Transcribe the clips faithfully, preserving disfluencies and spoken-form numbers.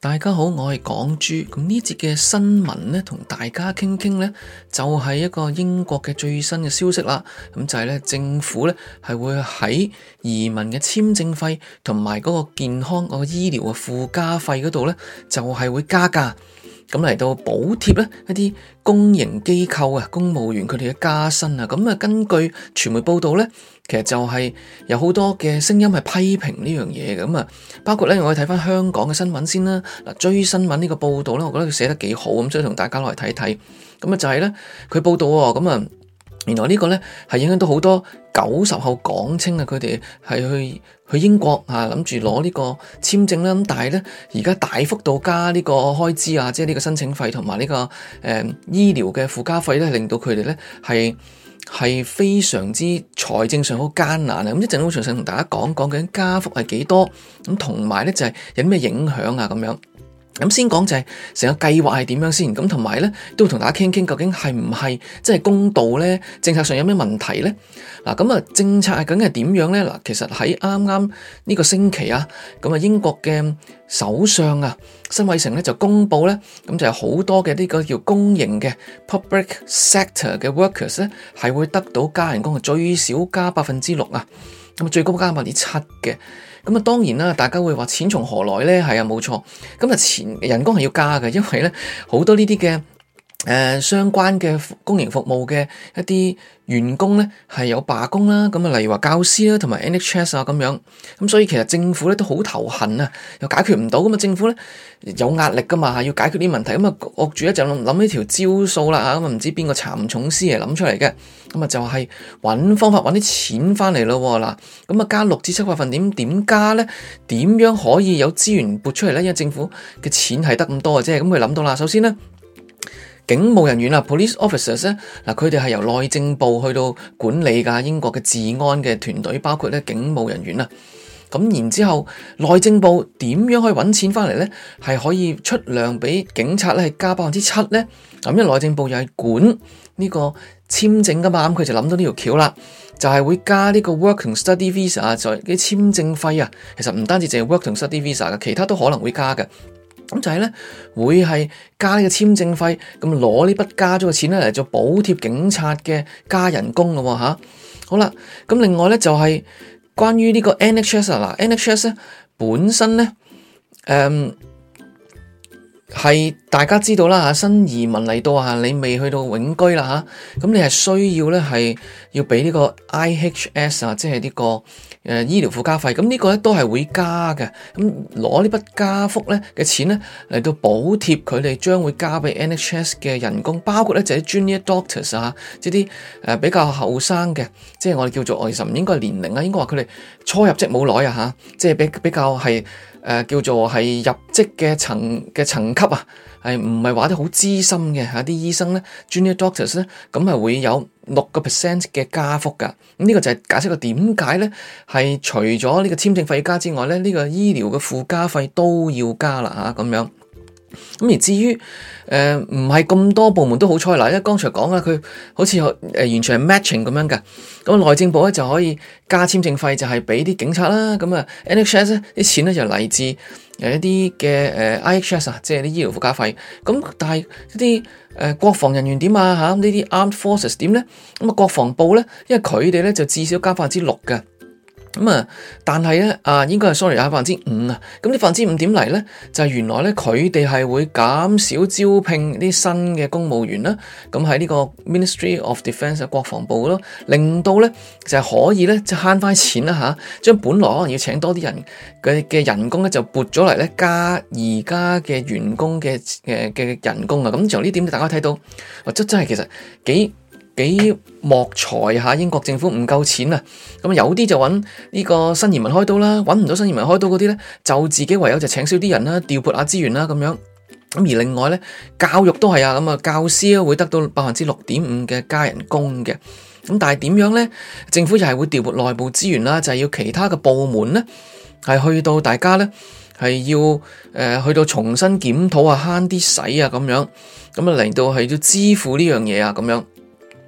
大家好，我係港豬。咁呢節嘅新聞呢，同大家傾傾呢，就係一個英國嘅最新嘅消息啦。咁就係呢，政府呢係會喺移民嘅簽證費同埋嗰個健康、嗰個醫療嘅附加費嗰度呢，就係會加價。咁嚟到補貼呢一啲公營機構啊、公務員佢哋嘅加薪啊。咁啊，根據傳媒報道呢，其實就係有好多嘅聲音係批評呢樣嘢嘅。咁啊，包括呢，我哋睇翻香港嘅新聞先啦。嗱，追新聞呢個報道呢，我覺得佢寫得幾好，咁所以同大家攞嚟睇睇。咁啊，就係呢，佢報道喎，咁啊，原來呢個呢係影響到好多九十後港青啊，佢哋係去去英國啊，諗住攞呢個簽證啦。咁但係呢，而家大幅度加呢個開支啊，即係呢個申請費同埋呢個誒、呃、醫療嘅附加費呢，令到佢哋呢係係非常之財政上好艱難啊。咁一陣會詳細同大家講講究竟加幅係幾多，咁同埋呢就係有啲咩影響啊咁樣。咁先講就係成個計劃係點樣先，咁同埋咧都會同大家傾傾究竟係唔係真係公道咧？政策上有咩問題咧？嗱，咁啊政策係究竟係點樣咧？嗱，其實喺啱啱呢個星期啊，咁啊英國嘅首相啊辛偉誠咧就公布咧，咁就係好多嘅呢個叫公營嘅 public sector 嘅 workers 咧係會得到加人工嘅，最少加百分之六啊，咁啊最高加百分之七嘅。咁啊，當然啦，大家會話錢從何來咧？係啊，冇錯。咁啊，錢人工係要加嘅，因為咧好多呢啲嘅誒相關嘅公營服務嘅一啲員工咧係有罷工啦。咁啊，例如話教師啦，同埋 N H S 啊咁樣。咁所以其實政府咧都好頭痕啊，又解決唔到。咁啊，政府咧有壓力噶嘛，要解決啲問題。咁啊，惡住一就諗諗呢條招數啦嚇。咁啊，唔知邊個殘重師嚟諗出嚟嘅。咁啊，就係揾方法揾啲錢翻嚟咯嗱。咁啊，加六至七百分點點加咧？點樣可以有資源撥出嚟咧？因為政府嘅錢係得咁多嘅啫。咁佢諗到啦，首先咧。警務人員啊 ，police officers 咧，嗱佢哋係由內政部去到管理噶，英國嘅治安嘅團隊，包括咧警務人員啊。咁然之後，內政部點樣可以揾錢翻嚟咧？係可以出糧俾警察咧，係加百分之七咧。咁因為內政部又係管呢個簽證噶嘛，咁佢就諗到呢條橋啦，就係會加呢個 work and study visa 啊，就係啲簽證費啊。其實唔單止淨係 work and study visa 嘅，其他都可能會加嘅。咁就係咧，會係加呢個簽證費，咁攞呢筆加咗嘅錢咧嚟做補貼警察嘅加人工咯吓。好啦，咁另外咧就係關於呢個 N H S 啊，嗱 N H S 咧本身咧，誒、嗯。係大家知道啦吓，新移民嚟到啊，你未去到永居啦吓，咁你係需要咧係要俾呢個 I H S 啊，即係呢個誒醫療附加費，咁呢個咧都係會加嘅，咁攞呢筆加幅咧嘅錢咧嚟到補貼佢哋將會加俾 N H S 嘅人工，包括咧就係 Junior Doctors 啊，即係啲誒比較後生嘅，即係我哋叫做，其實唔應該係年齡啊，應該話佢哋初入職冇耐啊吓，即係比比較係。誒、呃、叫做係入職嘅層嘅層級啊，係唔係話啲好資深嘅嚇啲醫生咧 Junior Doctors 咧，咁係會有六個 percent 嘅加幅㗎。咁呢個就係解釋個點解咧，係除咗呢個簽證費加之外咧，呢、呢個醫療嘅附加費都要加啦嚇咁樣。咁而至於誒唔係咁多部門都好彩嗱，因為剛才講啦，佢好似誒、呃、完全係 matching 咁樣㗎。咁內政部咧就可以加簽證費，就係俾啲警察啦。咁啊 N H S 咧啲錢咧就嚟自誒一啲嘅誒 I H S 啊，即係啲醫療附加費。咁但係一啲誒國防人員點啊嚇？呢啲 Armed Forces 點咧？咁啊國防部咧，因為佢哋咧就至少加百分之六嘅。咁啊，但係咧啊，應該係 sorry 啊，百分之五啊。咁啲百分之五點嚟咧，就係、是、原來咧佢哋係會減少招聘啲新嘅公務員啦。咁喺呢個 Ministry of Defence 嘅國防部咯，令到咧就係、是、可以咧就慳翻錢啦吓，將本來可能要請多啲人嘅嘅人工咧就撥咗嚟咧加而家嘅員工嘅誒嘅人工啊。咁從呢點大家睇到，或者真係其實幾。幾莫財吓，英國政府唔夠錢啊！咁有啲就揾呢個新移民開刀啦，揾唔到新移民開刀嗰啲咧，就自己唯有就請少啲人啦，調撥下資源啦咁樣。咁而另外咧，教育都係啊，咁啊教師咧會得到百分之六點五嘅加人工嘅。咁但係點樣咧？政府又係會調撥內部資源啦，就係要其他嘅部門咧，係去到大家咧係要誒、呃、去到重新檢討啊，慳啲使啊咁樣，咁啊嚟到係要支付呢樣嘢啊咁樣。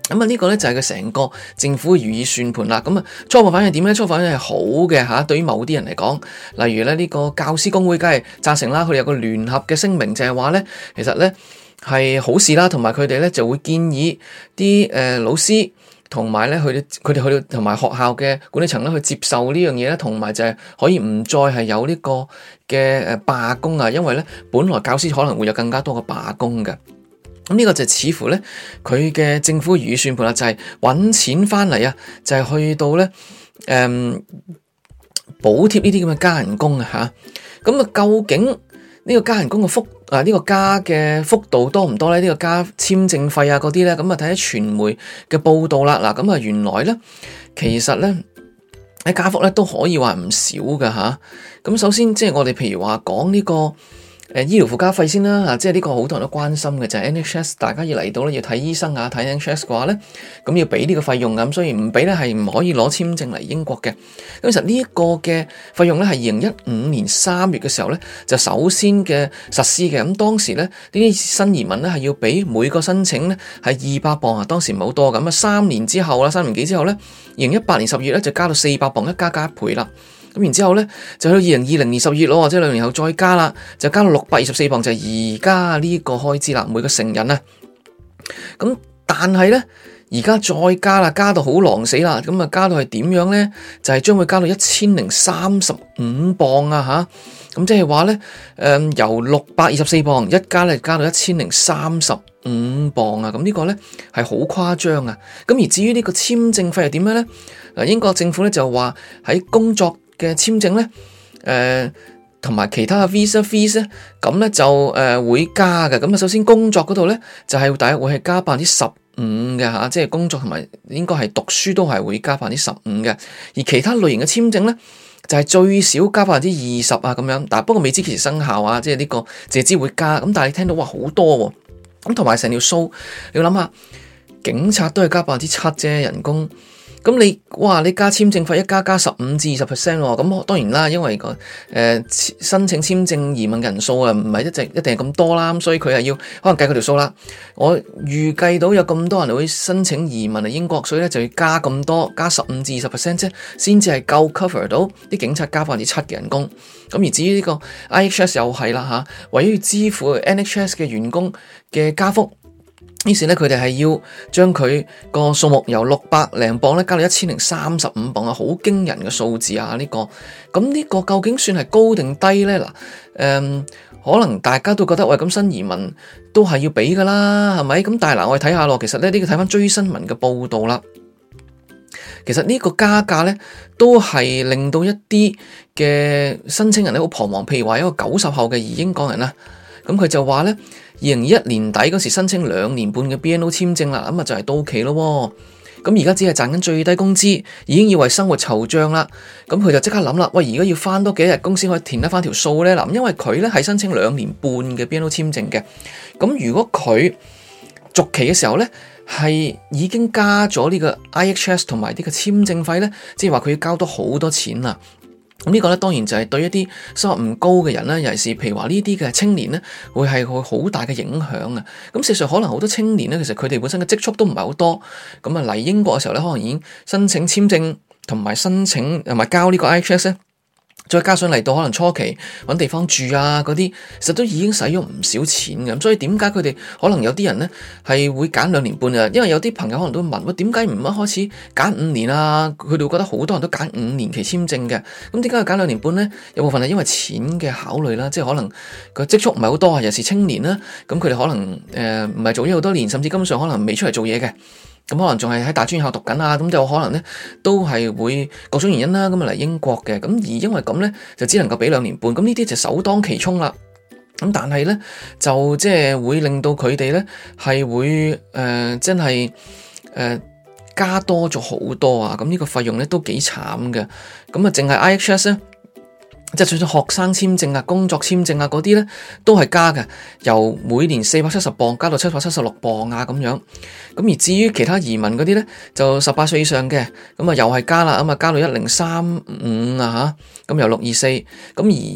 咁啊，呢個咧就係佢成個政府嘅如意算盤啦。咁啊，初步反應點咧？初步反應係好嘅嚇，對於某啲人嚟講，例如咧呢個教師公會梗係贊成啦，佢哋有個聯合嘅聲明，就係話咧，其實咧係好事啦，同埋佢哋咧就會建議啲誒老師同埋咧佢哋佢哋去到同埋學校嘅管理層咧去接受呢樣嘢咧，同埋就係可以唔再係有呢個嘅誒罷工啊，因為咧本來教師可能會有更加多嘅罷工嘅。咁呢個就似乎咧，佢嘅政府如意算盤啦，就係揾錢翻嚟啊，就係去到咧，誒補貼呢啲咁嘅加人工啊嚇。咁啊，究竟呢個加人工嘅幅啊，呢個加嘅幅度多唔多咧？呢個加簽證費啊嗰啲咧，咁啊睇下傳媒嘅報道啦。嗱，咁啊原來咧，其實咧喺加幅咧都可以話唔少㗎嚇。咁首先即係我哋譬如話講呢個。誒醫療附加費先啦，啊，即係呢個好多人都關心嘅就係 N H S， 大家要嚟到咧要睇醫生啊，睇 N H S 嘅話咧，咁要俾呢個費用嘅，咁所以唔俾咧係唔可以攞簽證嚟英國嘅。咁其實呢一個嘅費用咧係二零一五年三月嘅時候咧就首先嘅實施嘅，咁當時咧呢啲新移民咧係要俾每個申請咧係二百磅啊，當時唔係好多咁啊，三年之後啦，三年幾之後咧，二零一八年十月咧就加到四百磅，一加加一倍啦。咁然之後咧，就去到二零二零年十月咯，或者兩年後再加啦，就加到六百二十四磅，就係而家呢個開支啦，每個成人啊。咁但係咧，而家再加啦，加到好狼死啦，咁啊加到係點樣咧？就係、是、將會加到一千零三十五磅啊吓，咁即係話咧，誒、呃、由六百二十四磅一加咧，加到一千零三十五磅啊！咁呢個咧係好誇張啊！咁而至於呢個簽證費係點樣咧？嗱，英國政府咧就話喺工作嘅簽證咧，誒、呃，同埋其他嘅 visa fees 咧，咁咧就誒、呃、會加嘅。咁啊，首先工作嗰度咧，就係大約會係加百分之十五嘅吓，即係工作同埋應該係讀書都係會加百分之十五嘅。而其他類型嘅簽證咧，就係、是、最少加百分之二十啊咁樣。但係不過未知幾時生效啊，即係呢個借知會加。咁但係你聽到話好多喎，咁同埋成條數，你要諗下，警察都係加百分之七啫人工。咁你哇，你加簽證費一加加十五至二十 percent 喎，咁當然啦，因為個誒、呃、申請簽證移民人數啊，唔係一直一定係咁多啦，咁所以佢係要可能計佢條數啦。我預計到有咁多人會申請移民嚟英國，所以咧就要加咁多，加十五至二十 percent 啫，先至係夠 cover 到啲警察加百分之七嘅人工。咁而至於呢個 I H S 又係啦吓，為咗要支付 N H S 嘅員工嘅加幅。於是咧，佢哋係要將佢個數目由六百零磅咧加到一千零三十五磅啊，好驚人嘅數字啊！呢、這個咁呢個究竟算係高定低咧？嗱，誒，可能大家都覺得喂，咁新移民都係要俾噶啦，係咪？咁但係嗱，我哋睇下咯，其實咧呢、這個睇翻追新聞嘅報道啦，其實呢個加價咧都係令到一啲嘅申請人咧好彷徨，譬如話一個九十後嘅移英港人啦，咁佢就話咧。二零二一年底嗰時申請兩年半嘅 B N O 簽證啦，咁啊就係到期咯。咁而家只係賺緊最低工資，已經要為生活惆悵啦。咁佢就即刻諗啦，喂，而家要翻多幾日工先可以填得翻條數咧？嗱，因為佢咧係申請兩年半嘅 B N O 簽證嘅。咁如果佢續期嘅時候咧係已經加咗呢個 I H S 同埋呢個簽證費咧，即係話佢要交多好多錢啦。咁呢個咧當然就係對一啲收入唔高嘅人咧，尤其是譬如話呢啲嘅青年咧，會係會好大嘅影響啊！咁事實上可能好多青年咧，其實佢哋本身嘅積蓄都唔係好多，咁啊嚟英國嘅時候咧，可能已經申請簽證同埋申請同埋交呢個 I H S 咧。再加上嚟到可能初期揾地方住啊嗰啲，其實都已經使咗唔少錢嘅。咁所以點解佢哋可能有啲人咧係會揀兩年半啊？因為有啲朋友可能都問：喂，點解唔一開始揀五年啊？佢哋會覺得好多人都揀五年期簽證嘅。咁點解要揀兩年半咧？有部分係因為錢嘅考慮啦，即係可能個積蓄唔係好多啊，尤其是青年啦。咁佢哋可能誒唔係做咗好多年，甚至根本上可能未出嚟做嘢嘅。咁可能仲係喺大專校讀緊啊，咁就可能咧都係會各種原因啦，咁啊嚟英國嘅，咁而因為咁咧就只能夠俾兩年半，咁呢啲就首當其衝啦。咁但係咧就即係會令到佢哋咧係會誒、呃、真係誒、呃、加多咗好多啊！咁呢個費用咧都幾慘嘅。咁啊淨係 I H S 咧。即係除咗學生簽證啊、工作簽證啊嗰啲咧，都係加嘅，由每年四百七十磅加到七百七十六磅啊咁樣。咁而至於其他移民嗰啲咧，就十八歲以上嘅，咁啊又係加啦，咁啊加到一零三五啊吓，咁由六二四，咁而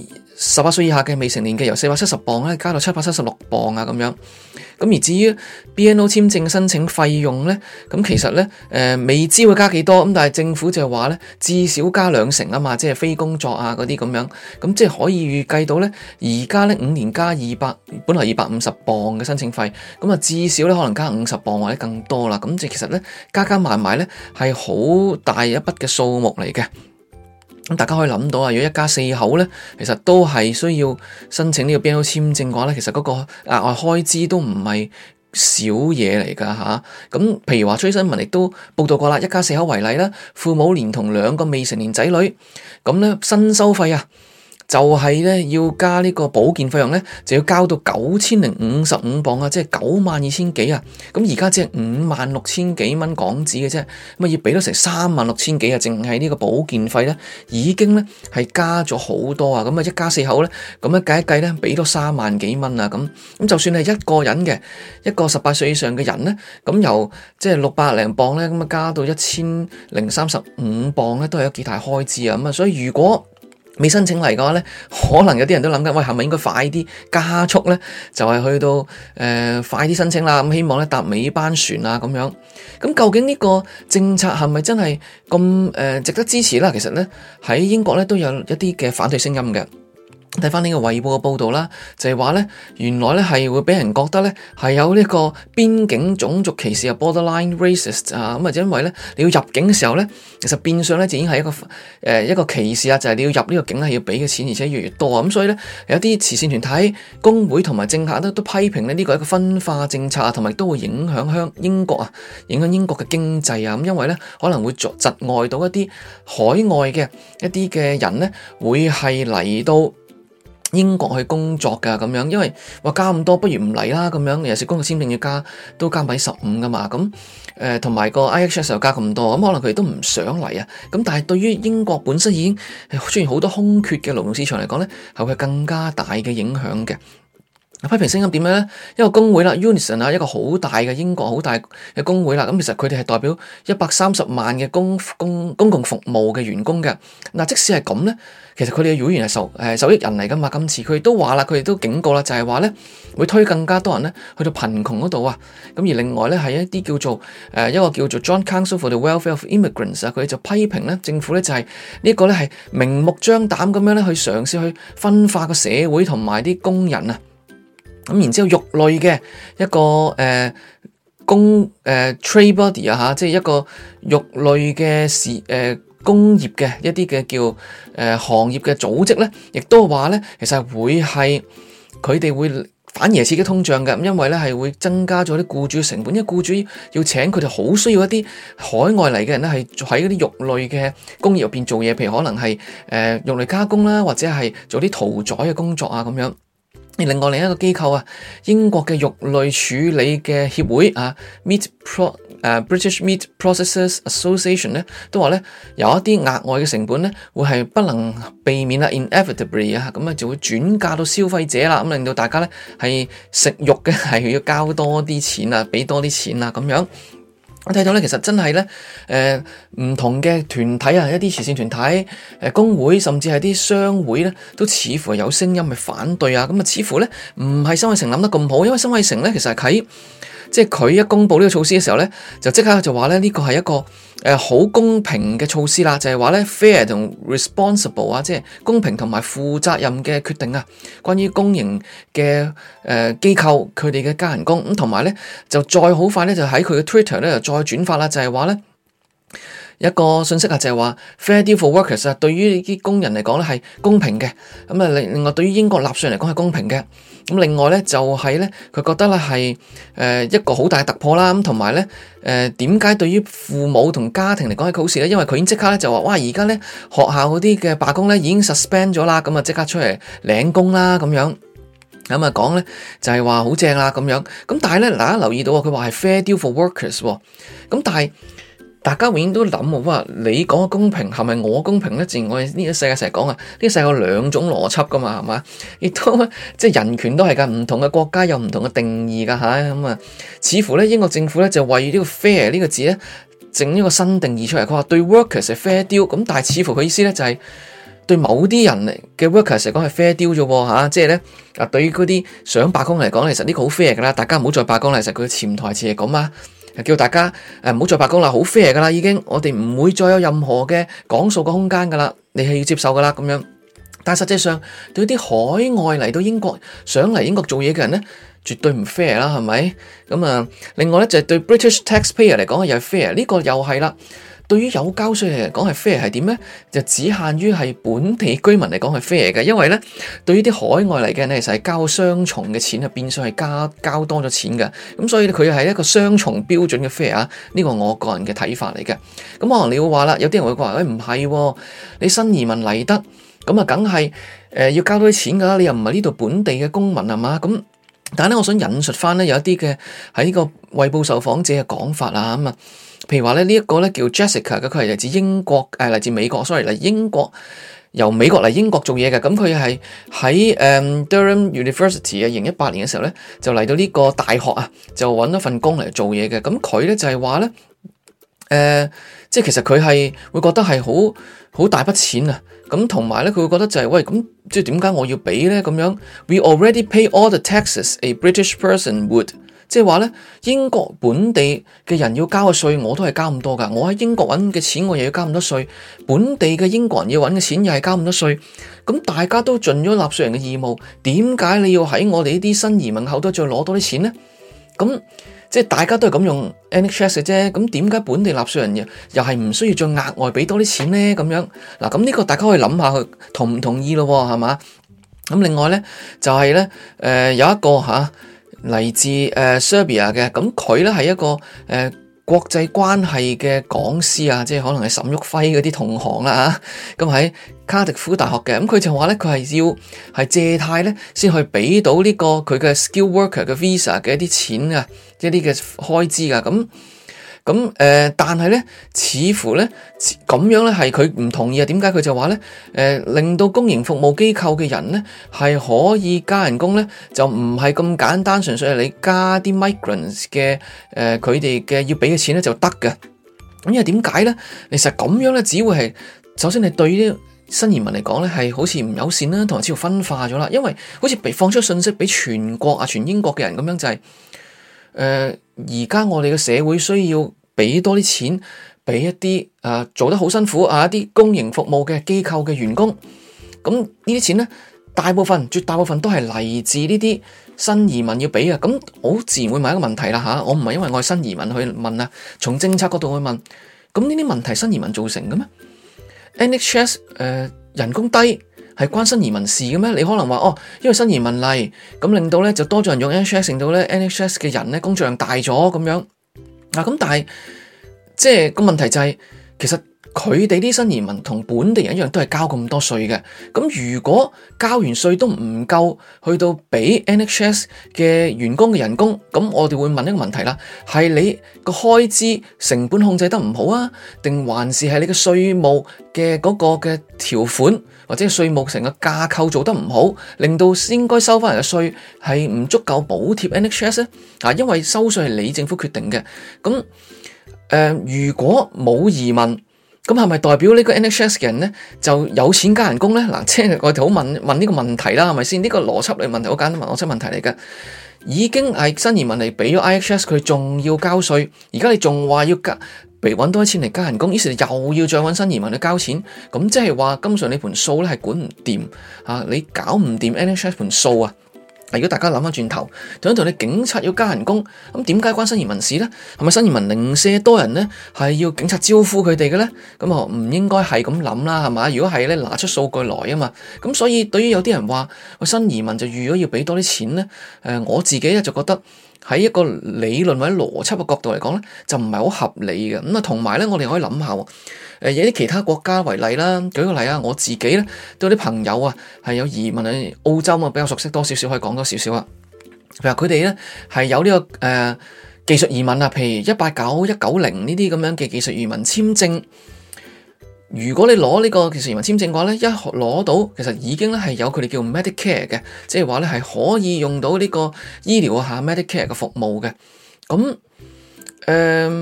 十八歲以下嘅未成年嘅由四百七十磅咧加到七百七十六磅啊咁樣。咁而至於 B N O 簽證申請費用咧，咁其實咧誒、呃、未知會加幾多，咁但係政府就話咧至少加兩成啊嘛，即係非工作啊嗰啲咁樣，咁即係可以預計到咧而家咧五年加二百，本來二百五十磅嘅申請費，咁啊至少咧可能加五十磅或者更多啦，咁即係其實咧加加埋埋咧係好大一筆嘅數目嚟嘅。咁大家可以諗到啊，如果一家四口咧，其實都係需要申請呢個 B N O 簽證嘅話咧，其實嗰個額外開支都唔係少嘢嚟噶吓。咁譬如話，崔新聞亦都報道過啦，一家四口為例啦，父母連同兩個未成年仔女，咁咧新收費啊，就係咧要加呢個保健費用咧，就要交到九千零五十五磅啊，即係九萬二千幾啊。咁而家只係五萬六千幾蚊港紙嘅啫，咁啊要俾到成三萬六千幾啊，淨係呢個保健費咧，已經咧係加咗好多啊。咁啊一家四口咧，咁樣計一計咧，俾到三萬幾蚊啊。咁咁就算係一個人嘅一個十八歲以上嘅人咧，咁由即係六百零磅咧，咁啊加到一千零三十五磅咧，都係有幾大開支啊。咁啊，所以如果未申請嚟嘅話咧，可能有啲人都諗緊，喂，係咪應該快啲加速咧？就係、是、去到誒、呃、快啲申請啦，咁希望咧搭尾班船啊咁樣。咁究竟呢個政策係咪真係咁誒值得支持啦？其實咧喺英國咧都有一啲嘅反對聲音嘅。睇翻呢個衛報嘅報道啦，就係話咧，原來咧係會俾人覺得咧係有呢個邊境種族歧視啊 ，borderline racist 啊，咁啊，因為咧你要入境嘅時候咧，其實變相咧就已經係一個誒、呃、一個歧視啊，就係、是、你要入呢個境係要俾嘅錢，而且越嚟越多啊，咁所以咧有啲慈善團體、工會同埋政客都都批評咧呢個係一個分化政策啊，同埋都會影響香英國啊，影響英國嘅經濟啊，咁因為咧可能會阻窒礙到一啲海外嘅一啲嘅人咧，會係嚟到英國去工作噶咁樣，因為話加咁多，不如唔嚟啦咁樣。尤其是工作簽證要加，都加百分之十五噶嘛。咁誒，同埋個 I H S 又加咁多，咁可能佢哋都唔想嚟啊。咁但係對於英國本身已經出現好多空缺嘅勞動市場嚟講咧，係會更加大嘅影響嘅。批評聲音點樣咧？一個工會啦 Unison 啊，一個好大嘅英國好大嘅工會啦。咁其實佢哋係代表一百三十萬嘅公公公共服務嘅員工嘅。嗱，即使係咁咧，其實佢哋嘅會員係受誒受益人嚟噶嘛。今次佢哋都話啦，佢哋都警告啦，就係話咧會推更加多人咧去到貧窮嗰度啊。咁而另外咧係一啲叫做誒一個叫做 Joint Council for the Welfare of Immigrants 啊，佢哋就批評咧政府咧就係呢個咧係明目張膽咁樣咧去嘗試去分化個社會同埋啲工人啊。咁然之後，肉類嘅一個誒、呃、工誒、呃、trade body 啊嚇，即係一個肉類嘅事誒工業嘅一啲嘅叫誒、呃、行業嘅組織咧，亦都話咧，其實會係佢哋會反而係刺激通脹嘅，因為咧係會增加咗啲僱主成本，因為僱主要請佢哋好需要一啲海外嚟嘅人咧，係喺嗰啲肉類嘅工業入邊做嘢，譬如可能係誒、呃、肉類加工啦，或者係做啲屠宰嘅工作啊咁樣。而另外另一個機構啊，英國嘅肉類處理嘅協會啊 ，Meat Pro 誒 British Meat Processors Association 咧，都話咧有一啲額外嘅成本咧，會係不能避免啦 ，inevitably 啊，咁啊就會轉嫁到消費者啦，咁令到大家咧係食肉嘅係要交多啲錢啊，俾多啲錢啊咁樣。我睇到咧，其實真係咧，誒、呃、唔同嘅團體啊，一啲慈善團體、誒、呃、工會，甚至係啲商會咧，都似乎有聲音去反對啊。咁啊，似乎咧唔係辛偉誠諗得咁好，因為辛偉誠咧其實係喺即係佢一公布呢個措施嘅時候咧，就即刻就話咧呢個係一個誒好、呃、公平嘅措施啦，就係話咧 fair 同 responsible 啊，即係公平同埋負責任嘅決定啊。關於公營嘅誒機構佢哋嘅加人工咁，同埋咧就再好快咧就喺佢嘅 Twitter 咧就再轉發啦，就係話咧。一個信息啊，就係話 fair deal for workers 啊，對於呢啲工人嚟講咧係公平嘅。咁啊，另另外對於英國納稅人嚟講係公平嘅。咁另外咧就係咧，佢覺得咧係誒一個好大嘅突破啦。咁同埋咧誒點解對於父母同家庭嚟講係好事咧？因為佢已經即刻咧就話哇，而家咧學校嗰啲嘅罷工咧已經 suspend 咗啦，咁啊即刻出嚟領工啦咁樣。咁啊講咧就係話好正啦咁樣。咁但係咧大家留意到啊，佢話係 fair deal for workers 喎。咁但係大家永遠都諗話，你講嘅公平係咪我公平咧？自然我哋呢個世界成日講啊，呢個世界有兩種邏輯噶嘛，係嘛？亦都即係人權都係噶，唔同嘅國家有唔同嘅定義噶吓。咁啊，似乎咧英國政府咧就為呢個 fair 呢個字咧整一個新定義出嚟。佢話對 workers 係 fair deal，咁但係似乎佢意思咧就係對某啲人嘅 workers 嚟講係 fair deal 啫喎嚇，即係咧啊，對於嗰啲想罷工嚟講，其實呢個好 fair 噶啦，大家唔好再罷工啦。其實佢嘅潛台詞係咁啊，叫大家誒唔好再罷工啦，好 fair 噶啦已經，我哋唔會再有任何嘅講數嘅空間噶啦，你係要接受噶啦咁樣。但係實際上對啲海外嚟到英國想嚟英國做嘢嘅人咧，絕對唔 fair 啦，係咪？咁啊，另外咧就係對 British taxpayer 嚟講又係 fair，呢個又係啦。對於有交稅嚟講係 fair 係點咧？就只限於係本地居民嚟講係 fair 嘅，因為咧對於啲海外嚟嘅人咧，其實係交雙重嘅錢啊，變相係加交多咗錢嘅。咁所以佢係一個雙重標準嘅 fair 啊，呢個我個人嘅睇法嚟嘅。咁可能你會話啦，有啲人會話喂，唔係，你新移民嚟得，咁啊梗係誒要交多啲錢噶啦，你又唔係呢度本地嘅公民係嘛？咁但係咧，我想引述翻咧有一啲嘅喺呢個衛報受訪者嘅講法啊咁啊。譬如話咧，呢一個咧叫 Jessica 嘅，佢係嚟自英國，誒嚟自美國，sorry 嚟英國，由美國嚟英國做嘢嘅。咁佢係喺誒 Durham University 啊，二零一八年嘅時候咧，就嚟到呢個大學啊，就揾咗份工嚟做嘢嘅。咁佢咧就係話咧，誒、呃，即係其實佢係會覺得係好好大筆錢啊。咁同埋咧，佢會覺得就係、是、喂，咁即係點解我要俾咧？咁樣 We already pay all the taxes a British person would。即係話咧，英國本地嘅人要交嘅稅，我都係交咁多噶。我喺英國揾嘅錢，我又要交咁多稅。本地嘅英國人要揾嘅錢，又係交咁多稅。咁大家都盡咗納稅人嘅義務，點解你要喺我哋呢啲新移民口度再攞多啲錢咧？咁即係大家都係咁用 N H S 嘅啫。咁點解本地納稅人又又係唔需要再額外俾多啲錢咧？咁樣嗱，咁呢個大家可以諗下，佢同唔同意咯？係嘛？咁另外咧就係、是、咧，誒、呃、有一個吓。啊嚟自誒 Serbia 嘅，咁佢咧係一個誒、呃、國際關係嘅講師啊，即係可能係沈旭輝嗰啲同行啦嚇，咁喺卡迪夫大學嘅，咁佢就話咧佢係要係借貸咧先去俾到呢個佢嘅 skill worker 嘅 visa 嘅一啲錢啊，一啲嘅開支啊，咁。咁誒、呃，但係咧，似乎咧咁樣咧係佢唔同意啊？點解佢就話咧？誒、呃，令到公營服務機構嘅人咧係可以加人工咧，就唔係咁簡單，純粹係你加啲 migrants 嘅誒，佢哋嘅要俾嘅錢咧就得嘅。咁因為點解咧？其實咁樣咧，只會係首先係對啲新移民嚟講咧係好似唔友善啦，同埋似乎分化咗啦。因為好似被放出信息俾全國啊、全英國嘅人咁樣就係、是。誒，而家、呃、我哋嘅社會需要俾多啲錢俾一啲啊、呃、做得好辛苦啊一啲公營服務嘅機構嘅員工，咁呢啲錢咧，大部分絕大部分都係嚟自呢啲新移民要俾啊，咁好自然會問一個問題啦吓，我唔係因為我係新移民去問啊，從政策角度去問，咁呢啲問題新移民造成嘅咩 ？N H S 誒、呃、人工低。係關新移民事嘅咩？你可能話哦，因為新移民嚟，咁令到咧就多咗人用 N H S，令到咧 N H S 嘅人咧工作量大咗咁樣。嗱，咁但係即係個問題就係、是，其實佢哋啲新移民同本地人一樣，都係交咁多稅嘅。咁如果交完稅都唔夠，去到俾 N H S 嘅員工嘅人工，咁我哋會問一個問題啦：係你個開支成本控制得唔好啊？定還是係你嘅稅務嘅嗰個嘅條款？或者稅務成個架構做得唔好，令到應該收翻嚟嘅稅係唔足夠補貼 N H S 咧？啊，因為收稅係你政府決定嘅。咁誒、呃，如果冇移民，咁係咪代表呢個 N H S 嘅人咧就有錢加人工咧？嗱，即係我哋好問問呢個問題啦，係咪先？呢、這個邏輯嚟問題好簡單，邏輯問題嚟嘅。已經係新移民嚟俾咗 I H S，佢仲要交稅，而家你仲話要加？被揾多啲錢嚟加人工，於是又要再揾新移民去交錢，咁即係話，根本上你盤數咧係管唔掂啊！你搞唔掂 N H S 盤數啊！如果大家諗翻轉頭，就同你警察要加人工，咁點解關新移民事咧？係咪新移民零舍多人咧，係要警察招呼佢哋嘅咧？咁啊，唔應該係咁諗啦，係嘛？如果係咧，拿出數據來啊嘛！咁所以對於有啲人話，喂，新移民就預咗要俾多啲錢咧，誒、呃，我自己咧就覺得。喺一個理論或者邏輯嘅角度嚟講咧，就唔係好合理嘅。咁啊，同埋咧，我哋可以諗下，誒，有啲其他國家為例啦。舉個例啊，我自己咧都有啲朋友啊，係有移民去澳洲啊，比較熟悉多少少，可以講多少少啊。譬如佢哋咧係有呢、這個誒、呃、技術移民啊，譬如一八九、一九零呢啲咁樣嘅技術移民簽證。如果你攞呢個技術移民簽證嘅話咧，一攞到其實已經咧係有佢哋叫 Medicare 嘅，即係話咧係可以用到呢個醫療下 Medicare 嘅服務嘅。咁誒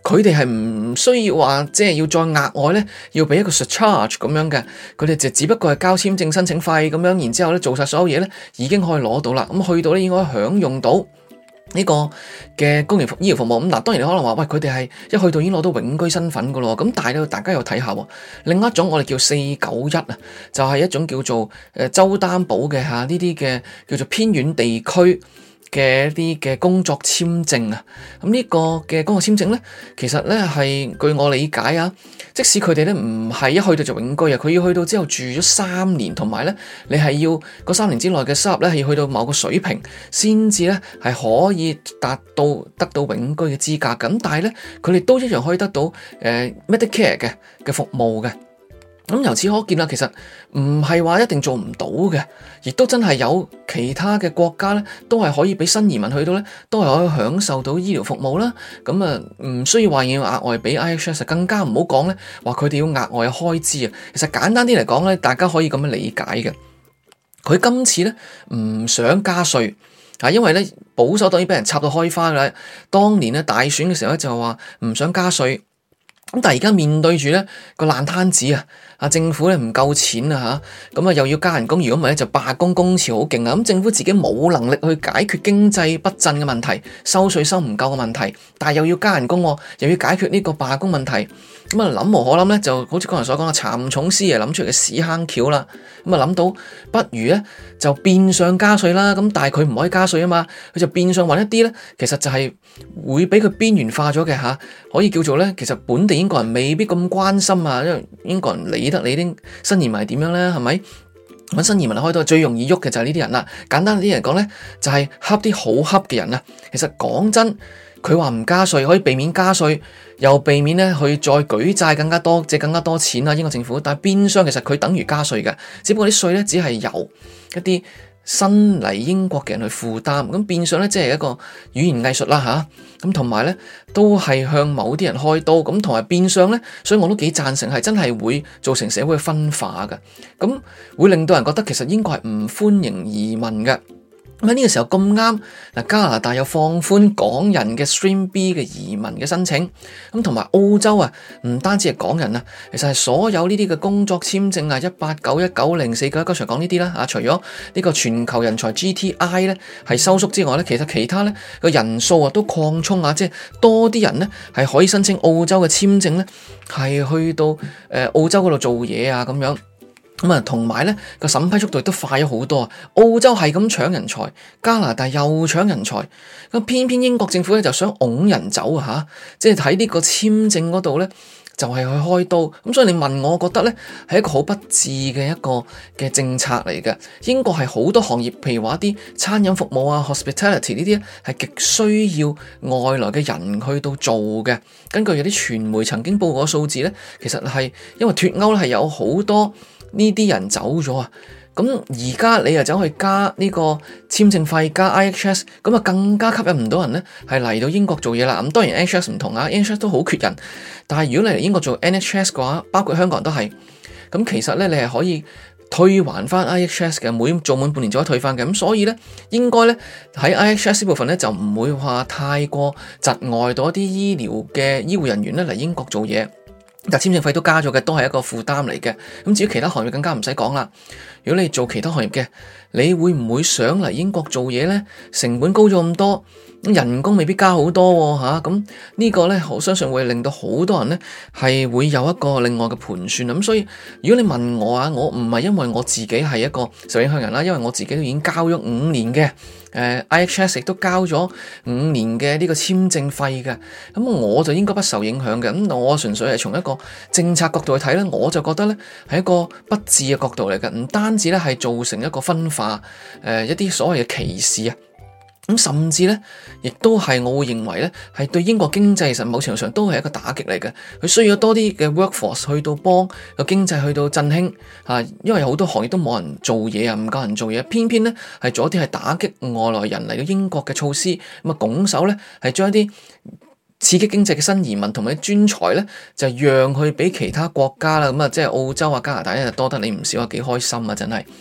佢哋係唔需要話即係要再額外咧要俾一個 surcharge 咁樣嘅，佢哋就只不過係交簽證申請費咁樣，然之後咧做晒所有嘢咧已經可以攞到啦。咁去到咧應該享用到呢個嘅公營醫療服務。咁嗱，當然你可能話喂，佢哋係一去到已經攞到永居身份噶咯。咁但係咧，大家又睇下，另一種我哋叫四九一啊，就係一種叫做誒州擔保嘅吓呢啲嘅叫做偏遠地區嘅一啲嘅工作簽證啊。咁呢個嘅工作簽證咧，其實咧係據我理解啊，即使佢哋咧唔係一去到就永居啊，佢要去到之後住咗三年，同埋咧你係要嗰三年之內嘅收入咧係要去到某個水平，先至咧係可以達到得到永居嘅資格。咁但係咧佢哋都一樣可以得到誒、呃、Medicare 嘅嘅服務嘅。咁由此可見啦，其實唔係話一定做唔到嘅，亦都真係有其他嘅國家咧，都係可以俾新移民去到咧，都係可以享受到醫療服務啦。咁啊，唔需要話要額外俾 I H S， 更加唔好講咧，話佢哋要額外嘅開支啊。其實簡單啲嚟講咧，大家可以咁樣理解嘅。佢今次咧唔想加稅啊，因為咧保守黨已經俾人插到開花啦。當年咧大選嘅時候咧就話唔想加稅。咁但係而家面對住咧個爛攤子啊，啊政府咧唔夠錢啊吓，咁啊又要加人工，如果唔係咧就罷工工潮好勁啊，咁政府自己冇能力去解決經濟不振嘅問題，收稅收唔夠嘅問題，但係又要加人工，又要解決呢個罷工問題，咁啊諗無可諗咧，就好似剛才所講嘅蠶蟲師爺諗出嚟嘅屎坑橋啦，咁啊諗到不如咧就變相加稅啦，咁但係佢唔可以加稅啊嘛，佢就變相揾一啲咧，其實就係會俾佢邊緣化咗嘅吓，可以叫做咧，其實本地英國人未必咁關心啊，因為英國人理得你啲新移民係點樣咧，係咪？揾新移民開到最容易喐嘅就係呢啲人啦。簡單啲嚟講咧，就係恰啲好恰嘅人啊。其實講真，佢話唔加稅可以避免加稅，又避免咧去再舉債更加多，借更加多錢啊。英國政府，但係變相其實佢等於加稅嘅，只不過啲稅咧只係由一啲新嚟英國嘅人去負擔，咁變相咧即係一個語言藝術啦吓，咁同埋咧都係向某啲人開刀，咁同埋變相咧，所以我都幾贊成係真係會造成社會嘅分化嘅，咁會令到人覺得其實英國係唔歡迎移民嘅。咁喺呢個時候咁啱，嗱加拿大又放寬港人嘅 Stream B 嘅移民嘅申請，咁同埋澳洲啊，唔單止係港人啊，其實係所有呢啲嘅工作簽證啊，一八九一九零四九一，剛才講呢啲啦，啊除咗呢個全球人才 G T I 咧係收縮之外咧，其實其他咧個人數啊都擴充啊，即係多啲人咧係可以申請澳洲嘅簽證咧，係去到誒、呃、澳洲嗰度做嘢啊咁樣。咁啊，同埋咧個審批速度亦都快咗好多啊！澳洲係咁搶人才，加拿大又搶人才，咁偏偏英國政府咧就想拱人走啊吓，即係喺呢個簽證嗰度咧就係去開刀。咁所以你問我，我覺得咧係一個好不智嘅一個嘅政策嚟嘅。英國係好多行業，譬如話一啲餐飲服務啊 hospitality 呢啲咧係極需要外來嘅人去到做嘅。根據有啲傳媒曾經報過數字咧，其實係因為脫歐咧係有好多呢啲人走咗啊，咁而家你又走去加呢個簽證費加 I H S， 咁啊更加吸引唔到人咧，係嚟到英國做嘢啦。咁當然 I H S 唔同啊 I H S 都好缺人，但係如果你嚟英國做 N H S 嘅話，包括香港人都係，咁其實咧你係可以退還翻 I H S 嘅，每做滿半年就可以退翻嘅。咁所以咧應該咧喺 I H S 部分咧就唔會話太過窒礙到一啲醫療嘅醫護人員咧嚟英國做嘢。但簽證費都加咗嘅，都係一個負擔嚟嘅。咁至於其他行業更加唔使講啦。如果你做其他行業嘅，你會唔會想嚟英國做嘢呢？成本高咗咁多，人工未必加好多喎嚇。咁呢個呢，我相信會令到好多人呢係會有一個另外嘅盤算。咁所以如果你問我啊，我唔係因為我自己係一個受影響人啦，因為我自己都已經交咗五年嘅。誒 I H S 亦都交咗五年嘅呢個簽證費嘅，咁我就應該不受影響嘅。咁我純粹係從一個政策角度去睇咧，我就覺得咧係一個不智嘅角度嚟嘅，唔單止咧係造成一個分化，誒、呃、一啲所謂嘅歧視啊。咁甚至咧，亦都係我會認為咧，係對英國經濟其實某程度上都係一個打擊嚟嘅。佢需要多啲嘅 workforce 去到幫個經濟去到振興啊，因為好多行業都冇人做嘢啊，唔夠人做嘢，偏偏咧係做一啲係打擊外來人嚟到英國嘅措施，咁啊拱手咧係將一啲刺激經濟嘅新移民同埋專才咧，就讓去俾其他國家啦。咁啊，即係澳洲啊、加拿大咧，多得你唔少啊，幾開心啊，真係。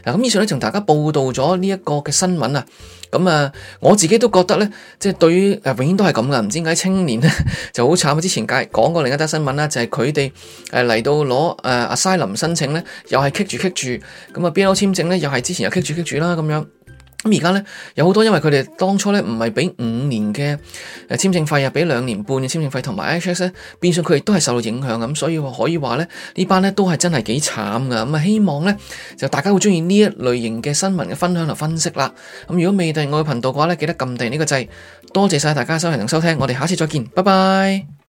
嗱，咁以上咧同大家報道咗呢一個嘅新聞啊。咁啊，我自己都覺得咧，即係對於誒永遠都係咁噶，唔知點解青年咧就好慘。之前介講過另一單新聞啦，就係佢哋誒嚟到攞誒 asylum 申請咧，又係棘住棘住，咁啊 B N O 簽證咧又係之前又棘住棘住啦咁樣。咁而家咧有好多因為佢哋當初咧唔係俾五年嘅誒簽證費啊，俾兩年半嘅簽證費同埋 I H S 咧，變相佢亦都係受到影響咁，所以可以話咧呢班咧都係真係幾慘噶。咁啊希望咧就大家會中意呢一類型嘅新聞嘅分享同分析啦。咁如果未訂閱我嘅頻道嘅話咧，記得撳訂閱呢個掣。多謝晒大家收聽同收聽，我哋下次再見，拜拜。